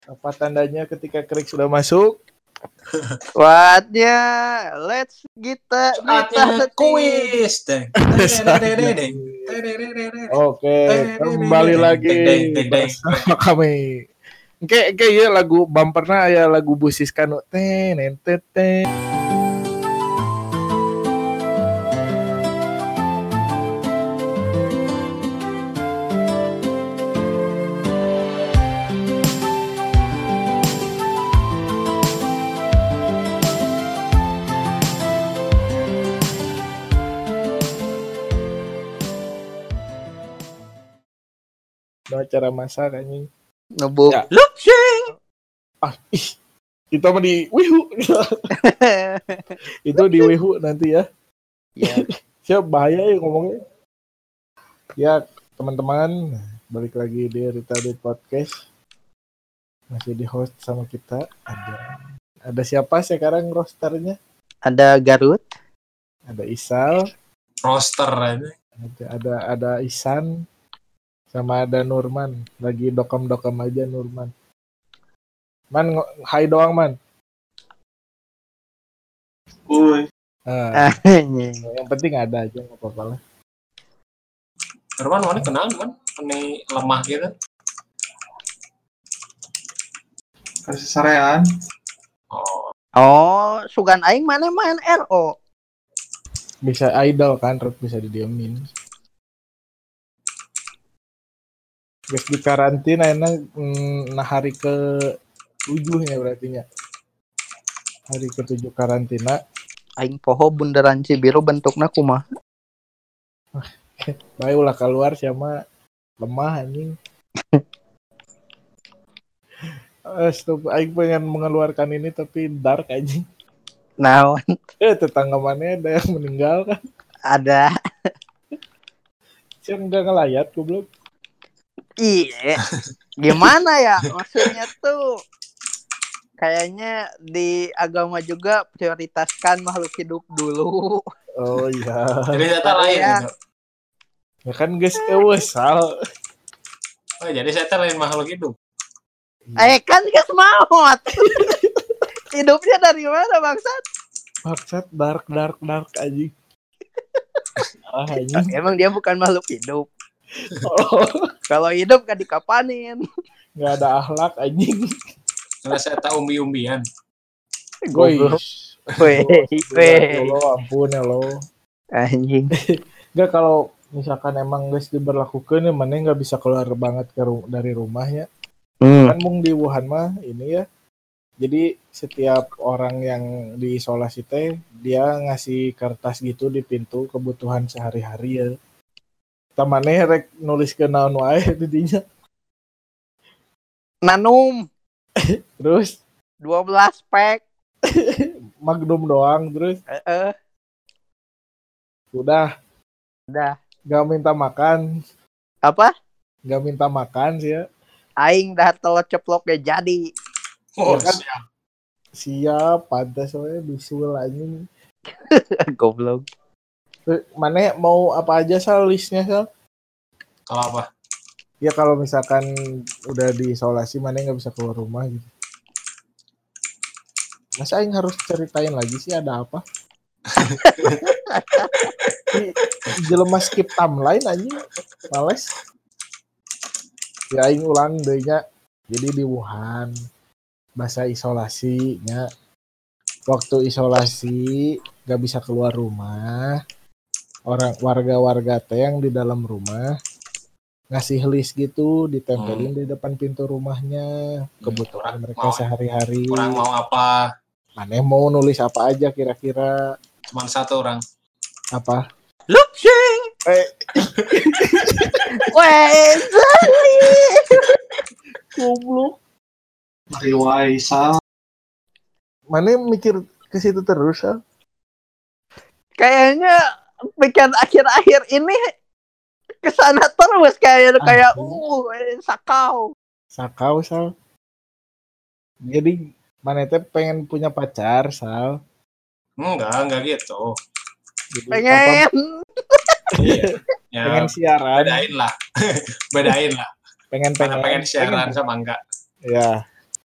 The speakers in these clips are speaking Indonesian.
Apa tandanya ketika krik sudah masuk? Saatnya let's kita kuis. Oke, kembali lagi bersama kami. Oke, ya lagu bumpernya ya lagu busis kan. Cara masak anjing. Nebuk. Ya. Kita mah di Wihu. Itu di Wihu nanti ya. Ya. Siap bahaya ya ngomongnya. Ya, teman-teman, balik lagi di Rita di Podcast. Masih di host sama kita. Ada siapa sekarang rosternya? Ada Garut. Ada Isal. Roster aja. Ada Isan. Sama ada Nurman. Lagi dokam-dokam aja Nurman. Man, hai doang man. Uy. Yang penting ada aja, nggak apa-apa lah. Nurman mana kenal man? Ini lemah gitu. Kasih sarean. Oh, sugan aing mana main RO. Bisa idol kan, bisa didiemin. Guys di karantina enak hari ke-7 ya berarti ya. Hari ke-7 karantina. Aing poho bundaran Cibiru bentukna kumaha? Bae ulah keluar sama lemah anjing. Stop, aing pengen mengeluarkan ini tapi dark anjing. Naon? Tetangga mana ada yang meninggal kan? Ada. Siapa enggak ngelayat goblok. Iya. Gimana ya? Maksudnya tuh kayaknya di agama juga prioritaskan makhluk hidup dulu. Oh iya. Jadi data lain gitu. Ya kan guys, sal. Oh, jadi saya lain makhluk hidup. Kan guys maut. Hidupnya dari mana bangsat? Bangsat dark anjing. Anjing. Emang dia bukan makhluk hidup. Oh. Kalau hidup kan dikapanin. Nggak ada akhlak anjing. Karena saya tahu umbi-umbian. Goish. Weh. Ampun ya lo. Anjing. Nggak, kalau misalkan emang guys diberlakukan ya mana nggak bisa keluar banget dari rumahnya. Kan mung di Wuhan mah ini ya. Jadi setiap orang yang diisolasi teh dia ngasih kertas gitu di pintu kebutuhan sehari-hari ya. Tamane rek nulis ke naon wae di dinya. Nanum. Terus 12 pack. Magnum doang terus. Udah. Gak minta makan. Apa? Gak minta makan sih ya. Aing dah telur ceploknya jadi. Oh, ya kan? Siap, pantas soalnya bisul anjing. Goblok. Mana mau apa aja Sal listnya Sal? Kalau apa? Ya kalau misalkan udah diisolasi mana nggak bisa keluar rumah gitu. Masa Aing harus ceritain lagi sih ada apa? Jelema skip timeline anjing. Males. Ya Aing ulang dehnya. Jadi di Wuhan masa isolasinya. Waktu isolasi nggak bisa keluar rumah. Warga-warga teh yang di dalam rumah ngasih list gitu ditempelin di depan pintu rumahnya kebutuhan mereka sehari-hari. Orang mau apa? Maneh mau nulis apa aja kira-kira? Cuman satu orang. Apa? Lupsing. Goblok. Riwaisa. Maneh mikir ke situ terus, Sal? Kayaknya pikiran akhir-akhir ini kesana terus kayak sakau Sal. Jadi mana teh pengen punya pacar, Sal? Enggak gitu. Jadi, pengen Ya, pengen siaran. Bedain lah. Pengen siaran sama enggak. Ya.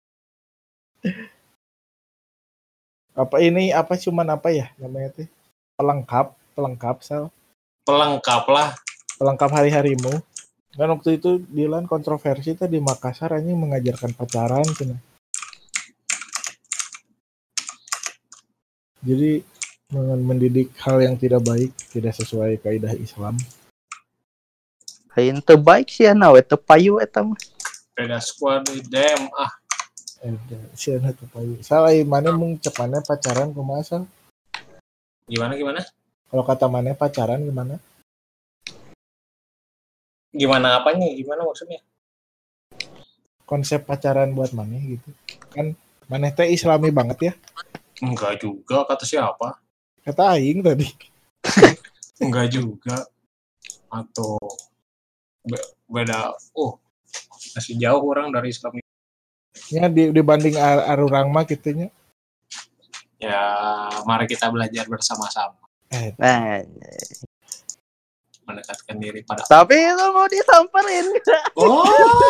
Apa ini apa cuman apa ya namanya teh? Pelengkap Sal. Pelengkap lah. Pelengkap hari-harimu. Kan waktu itu Dilan kontroversi teh di Makassar anjing mengajarkan pacaran cenah. Jadi mendidik hal yang tidak baik, tidak sesuai kaidah Islam. Lain teu baik sih na we teu payu eta mah. Beda squad dem ah. Siana tuh payu. Salah mana mung cek mana pacaran kumaha Sal? Gimana? Kalau kata mana pacaran gimana? Gimana apanya? Gimana maksudnya? Konsep pacaran buat mana gitu. Kan mana teh Islami banget ya. Enggak juga, kata siapa? Kata aing tadi. Enggak juga. Atau beda. Masih jauh orang dari Islam. Ya dibanding arurang mah gitunya. Ya, mari kita belajar bersama-sama Nah, mendekatkan diri pada. tapi itu mau disamperin. Oh,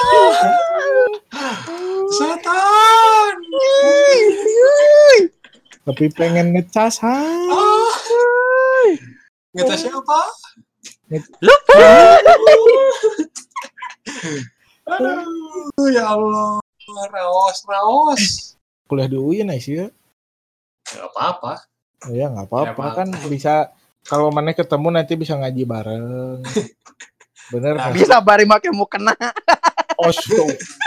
setan. Tapi pengen ngecas ha. Kita siapa? Aduh, ya Allah, raos. Kuliah di UIN sih ya. Gak apa-apa. Ya nggak apa-apa Ya, kan bisa kalau mana ketemu nanti bisa ngaji bareng. Bener Nah, kan? Bisa bari make mukena. Oh, so.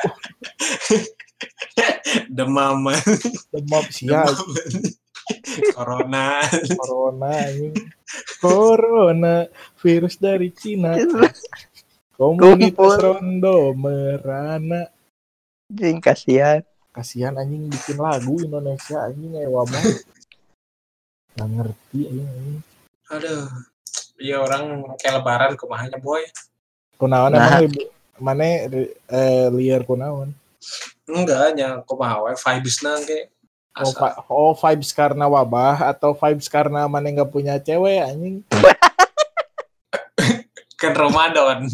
Demam. Demam sia Corona. anjing. Corona virus dari Cina. Komunitas rondo merana. Jing kasihan. Kasihan anjing bikin lagu Indonesia anjing wabah. Nggak ngerti anjing. Aduh. Iya orang kayak lebaran kumahanya boy. Kunaon Nah. emang mana liar kunaon? Enggak, nya kumaha we vibes nang ge. Vibes karena wabah atau vibes karena mana nggak punya cewek anjing? Kan Ramadan.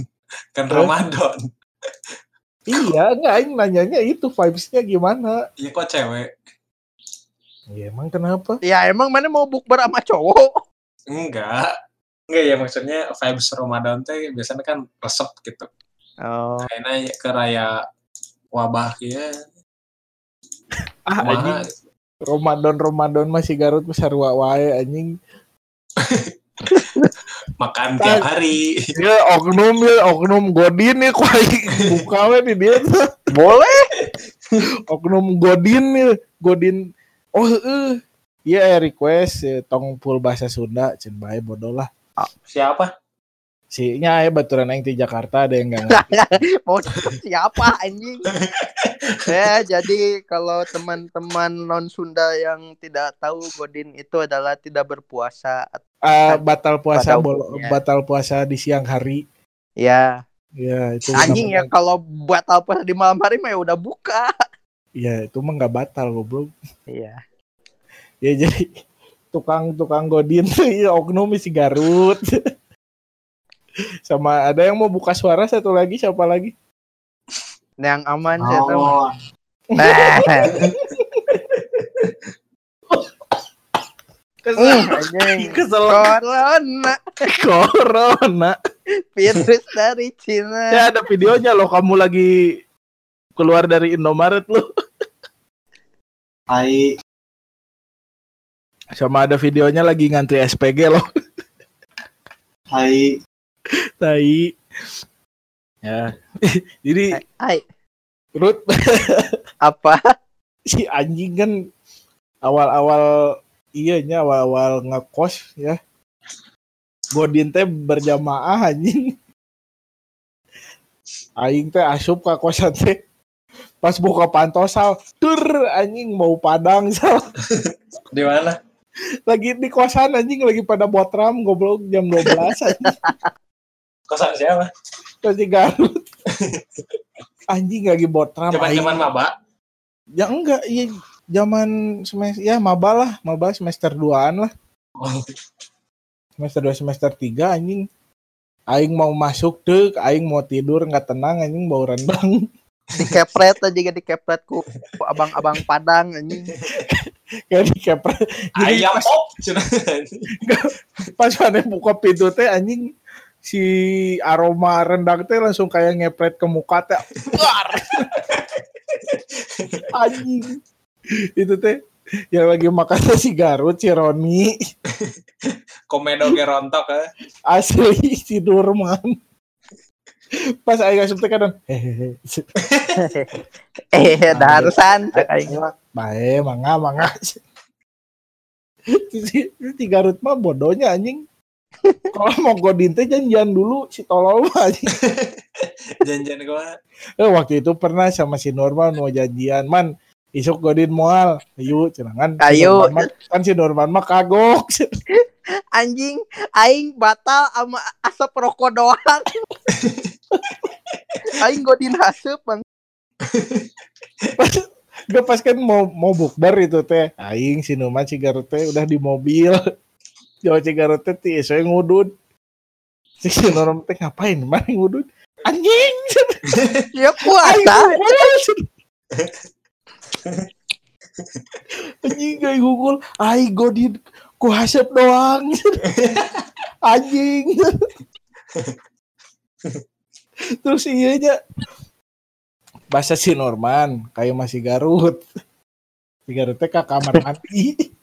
Iya, enggak aing nanyanya itu vibes-nya gimana? Iya kok cewek? Ya emang kenapa? Ya emang mana mau bukber sama cowok? Enggak ya maksudnya vibes Ramadan teh biasanya kan resep gitu. Oh. Kayaknya ke raya wabah ya. Anjing. Ramadan masih Garut besar wae anjing. Makan tiap hari. Ya oknum Godin nih kok buka we di dia tuh. Boleh. Oknum Godin. Oh iya request tong full bahasa Sunda cen bae bodoh lah. Siapa? Si nya baturan aing di Jakarta ada yang enggak ngerti. Mau siapa anjing? Ya, jadi kalau teman-teman non Sunda yang tidak tahu Godin itu adalah tidak berpuasa. Batal puasa Pada umumnya. batal puasa di siang hari. Ya. Ya itu Anjing ya kalau batal puasa di malam hari mah ya udah buka. Ya itu mah enggak batal goblok. Iya. Ya jadi tukang Godin tuh ya oknum si Garut. Sama ada yang mau buka suara satu lagi siapa lagi? Yang aman saya tahu. Anjing. Kesel. Corona. Virus dari Cina. Ya ada videonya loh kamu lagi keluar dari Indomaret loh. Hai. Sama ada videonya lagi ngantri SPG loh. Hai. Tai. Ya. Jadi Hai. Ruth Apa? si anjing kan awal-awal ngekos ya. Godin teh berjamaah anjing. Aing teh asup ka kosan teh. Pas buka pantosal, anjing mau padang sal. Di mana? Lagi di kosan anjing lagi pada botram goblok jam 12 anjing. Kosan siapa? Masih Garut. Anjing lagi botram. Zaman maba? Ya enggak, iya zaman semester ya maba semester 2-an lah. Oh. Semester 2 semester 3 anjing. Aing mau masuk tuh, aing mau tidur enggak tenang anjing bau rendang. Dikepret aja dikepret ku abang-abang Padang anjing. Kayak dikepret. Jadi Ayam pop. pas mana buka pintu teh anjing si aroma rendang teh langsung kayak ngepret ke muka teh. Buar. Anjing. Itu teh yang lagi makan si Garut, si Roni. Komedo gerontok ya. Asli si Durman. Pas aing asup teh kadang hehehe. Daharusan cek aing. Bae, mangga. Si Garut mah bodohnya anjing. Kalau mau godin teh janjian dulu si tolol mah anjing. Janjian gua. Waktu itu pernah sama si Norman mau janjian, man isuk godin moal, ayo cenangan. Ayo. Kan si Norman mah kagok. Anjing, aing batal sama asap rokok doang. Aing godin haseup bang. Gak pas kan mau bukber itu teh. Aing si Norman si Garut teh udah di mobil. Jawa si Garut teh ti isoe ngudud. Si Norman teh ngapain? Mana ngudud? Anjing. Ya puasa. Anjing kayak gugul. Ai godin ku hasep doang. Anjing. Terus iya aja. Bahasa si Norman kayak masih Garut. Si Garut teh ke kamar mandi.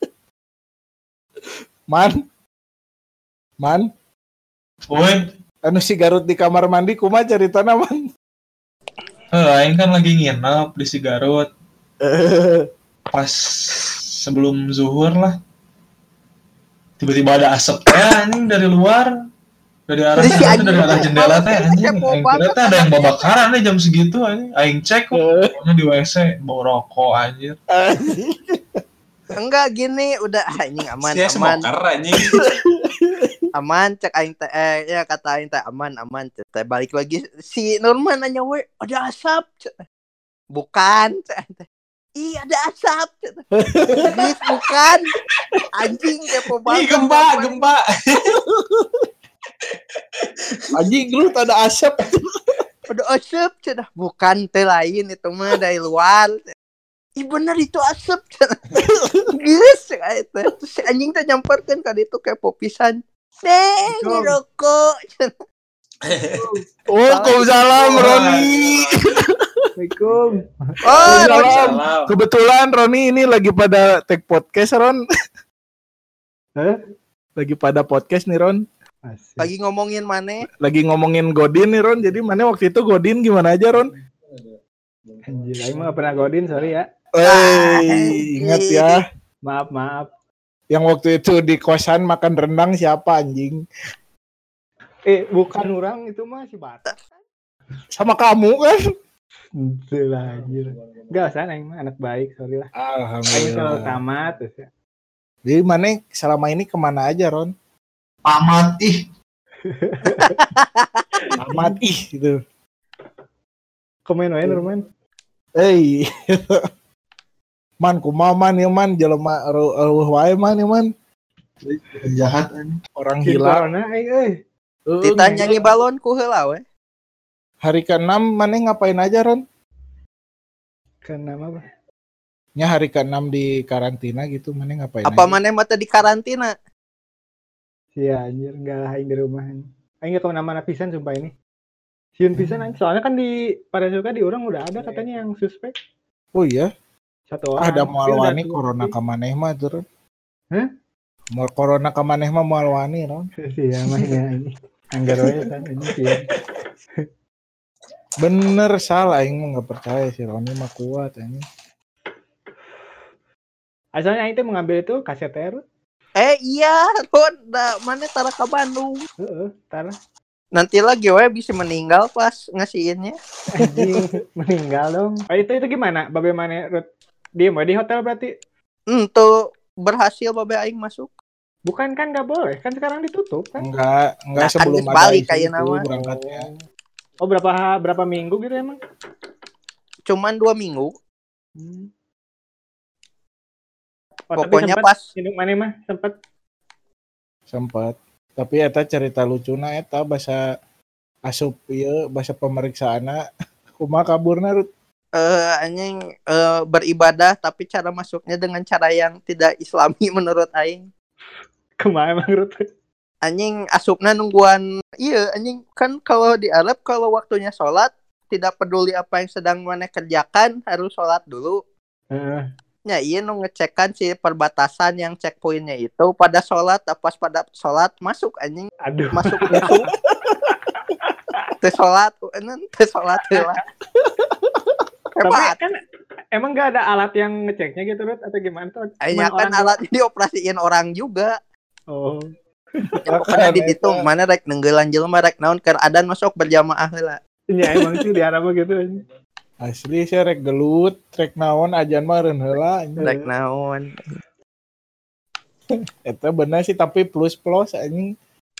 Man. Woi, Anu si Garut di kamar mandi kumaha caritana man? aing kan lagi nginep di si Garut. Pas sebelum zuhur lah. Tiba-tiba ada asap anjing dari luar. Dari arah Jadi si sana, anjing dari arah jendela teh anjing. kepo Aing banget. kira teh ada yang babakaran nih jam segitu anjing. Aing cek kok pokoknya di WC bau rokok anjir. Enggak gini, udah anjing aman. Smoker anjing. Aman cek aing teh ya kata aing teh aman teh balik lagi si Norman nanya we ada asap cek. Bukan cek aing teh. Ih ada asap cek. Bis, bukan anjing kepo banget. Ih gempa. Anjing lu tak ada asap. Ada asap cek. Bukan teh lain itu mah dari luar. Ih bener itu asap cek. Geus cek aing teh. Terus si anjing teh nyamperkeun ka ditu kepo pisan. Ngerokok. Waalaikumsalam Roni. Assalamualaikum. Oh, Salam. Kebetulan Roni ini lagi pada take podcast Ron. Hah? Lagi pada podcast nih Ron. Asik. lagi ngomongin mana? Lagi ngomongin Godin nih Ron. Jadi mana waktu itu Godin gimana aja Ron? Anjir, aing mah gak pernah godin, sorry ya. Ingat ya. Maaf. Yang waktu itu di kosan makan rendang siapa anjing? Bukan orang itu mah si Batak. Sama kamu kan? Itu lah anjir. Enggak usah aing mah anak baik, sorry lah. Aing Alhamdulillah. kalau tamat terus ya. Jadi mana selama ini kemana aja Ron? Pamat ih. Amat gitu. Komen wae Norman. Man kumaha man ya man jelema eueuh wae man ya man. Jahat anjing. Orang Si hilang. corona aing Ditanya nyanyi balon ku heula we. Hari ke-6 mana ngapain aja Ron? Kenapa apa? Nya hari ke-6 di karantina gitu mana ngapain Apa aja? maneh mata di karantina? Sia anjir, enggak lah aing di rumah. Aing enggak kemana-mana pisan sumpah ini. Sieun pisan aing. Soalnya kan di pada suka di orang udah ada katanya yang suspek. Oh iya? Satu orang. Ada Tapi moal udah wani tuh. corona ka maneh mah tuh Ron. Hah? Moal corona ka maneh mah moal wani Ron. Sia mahnya ini. Anggar wae kan ini sih. Bener salah aing mah enggak percaya si Roni mah kuat anjing. Asalnya aing teh mengambil itu kaseter. Iya, Ron, mana tara ke Bandung. Heeh, tar Nanti lagi we bisa meninggal pas ngasihinnya. anjing meninggal dong. Oh, itu gimana? Bagaimana Rut? Diem we di hotel berarti? Tuh berhasil babe aing masuk. Bukan kan nggak boleh, kan sekarang ditutup kan? Enggak Nah, kan sebelum geus ada balik isu kayak itu nama. berangkatnya. Oh berapa minggu gitu emang? Cuman 2 minggu. Oh, Pokoknya tapi pas induk mana mah Sempat. Tapi eta cerita lucuna eta bahasa asup ieu bahasa pemeriksaana kumaha kaburna Rut. Anjing beribadah tapi cara masuknya dengan cara yang tidak islami menurut aing. Kumaha emang Rut? Anjing asupna nungguan iya anjing kan kalau di Arab kalau waktunya sholat tidak peduli apa yang sedang mana kerjakan harus sholat dulu. Heeh. Ya iya nu ngecekan si perbatasan yang checkpointnya itu pada sholat pas pada sholat masuk anjing Aduh. masuk itu teu sholat heula. Tapi Hebat. kan emang gak ada alat yang ngeceknya gitu Rut atau gimana tuh? Akhirnya kan alat ini dioperasiin orang juga. Oh. Pokoknya di ditu mana rek nenggelan jelema rek naon keur adan masuk berjamaah heula. Ya emang sih di Arab gitu. Asli sih rek gelut, rek naon ajan mah reun heula. Rek naon. Eta bener sih tapi plus anjing.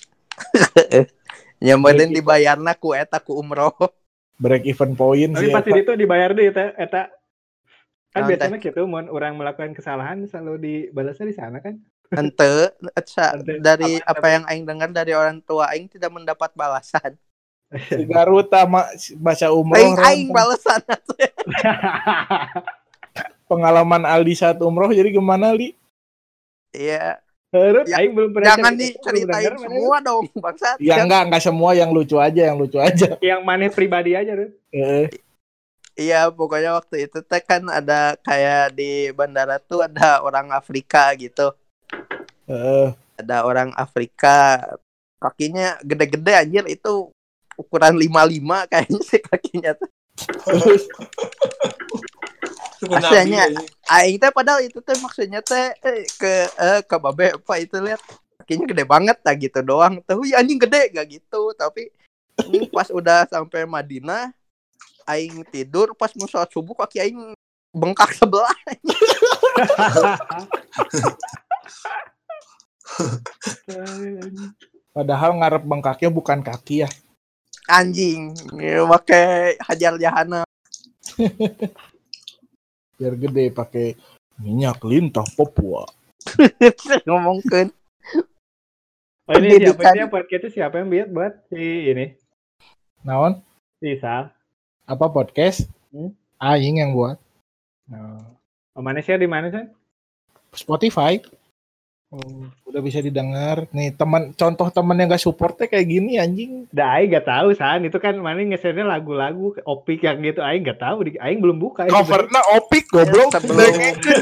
Nya meureun dibayarna ku eta ku umroh. Break even point Tapi sih. pasti eta. itu dibayar deh eta. Kan Naon biasanya gitu mun orang melakukan kesalahan selalu dibalasnya di sana kan. Henteu Henteu. dari apa yang aing dengar dari orang tua aing tidak mendapat balasan. Si Garut sama baca umroh. Aing balasan. Pengalaman Aldi saat umroh jadi gimana Li? Iya, Rut, Ya, aing belum pernah jangan cerita, belum diceritain denger, semua dong, bangsat. Ya enggak semua yang lucu aja. Yang maneh pribadi aja Rut. Iya, pokoknya waktu itu teh kan ada kayak di bandara tuh ada orang Afrika gitu. Ada orang Afrika kakinya gede-gede anjir itu ukuran 55 kayaknya sih kakinya tuh. Aslinya aing teh padahal itu teh maksudnya teh ke babe apa itu lihat kakinya gede banget lah gitu doang. Tahu ya anjing gede gak gitu, tapi ini pas udah sampai Madinah aing tidur pas mau sholat subuh kaki aing bengkak sebelah. Padahal ngarep bengkaknya bukan kaki ya. Anjing, pakai hajar jahanam. Biar gede pakai minyak lintah Papua. Ngomongkeun. Oh ini siapa Pendidikan. ini podcast itu siapa yang buat si ini? Naon? Si Sal. Apa podcast? Aing yang buat. Oh, mana sih di mana sih? Spotify. Udah bisa didengar. Nih contoh teman yang gak supportnya kayak gini anjing. Dah aing gak tahu San, itu kan mana nge-share lagu-lagu Opik yang gitu aing gak tahu, aing belum buka. Covernya Opik goblok. Sebelum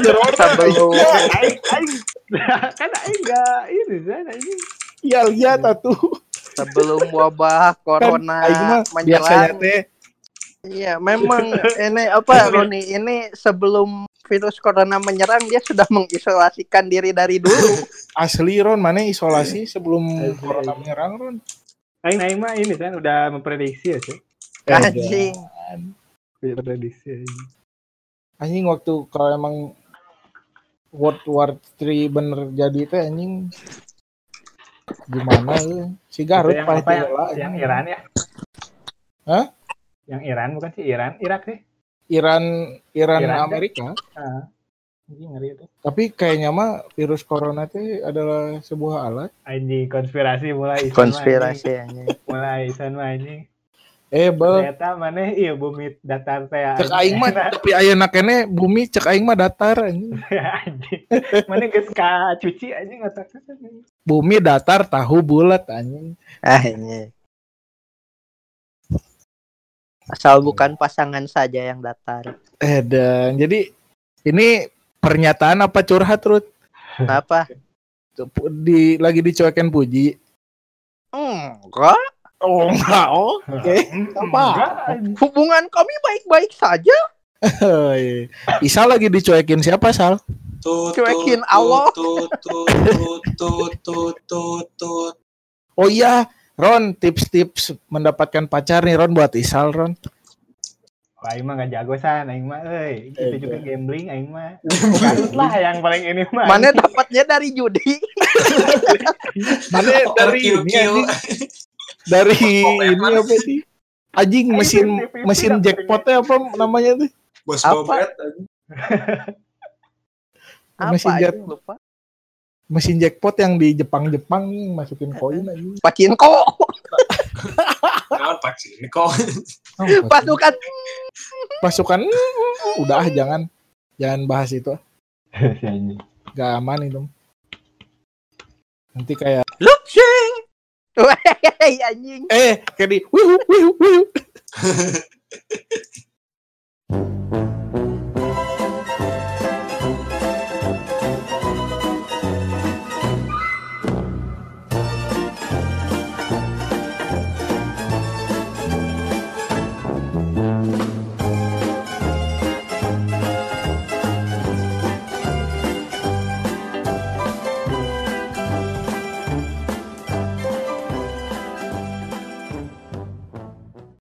aing kan aing gak ini San anjing. Iya lihat atuh. Sebelum wabah corona Aing mah biasanya menyerang. teh Iya, memang ini apa Roni ini sebelum virus corona menyerang dia sudah mengisolasikan diri dari dulu. asli Ron, mana isolasi sebelum corona menyerang Ron. Aing mah ini San udah memprediksi ya sih. Anjing. Prediksi. Anjing waktu kalau emang World War 3 bener jadi teh anjing gimana ya? Si Garut yang apa yang Iran ya? Hah? Yang Iran bukan sih Irak sih. Iran Amerika. Anjing ngeri itu. Tapi kayaknya mah virus corona itu adalah sebuah alat. Anjing konspirasi mulai. Konspirasi anjing. Mulai Isan mah anjing. Bel. Ternyata mana iya bumi datar teh. Cek aing mah tapi ayeuna keneh bumi cek aing mah datar anjing. Anjing. Mana geus ka cuci anjing otakna. Bumi datar tahu bulat anjing. Anjing. Asal bukan pasangan saja yang datar. Dan jadi ini pernyataan apa curhat Ruth? Apa? Lagi dicuekin Puji. Enggak. Oh enggak, oke. Apa? Hubungan kami baik-baik saja. Isa lagi dicuekin siapa Sal? Cuekin Allah. Oh iya, Ron, tips-tips mendapatkan pacar nih Ron buat Isal Ron. Wah, aing mah gak jago San, aing mah itu juga gambling aing mah. Bukan lah yang paling ini mah. Mana dapatnya dari judi? Mana dari ini dari ini apa sih? Anjing mesin jackpotnya apa namanya tuh? Bos Apa? Bobet. Lupa. Mesin jackpot yang di Jepang nih masukin koin aja. Pacinko. Naon Pak sih ini kok. Pasukan Pasukan udah jangan bahas itu. Si anjing. Gak aman itu. Nanti kayak Luxing. Weh anjing. kayak di wihu.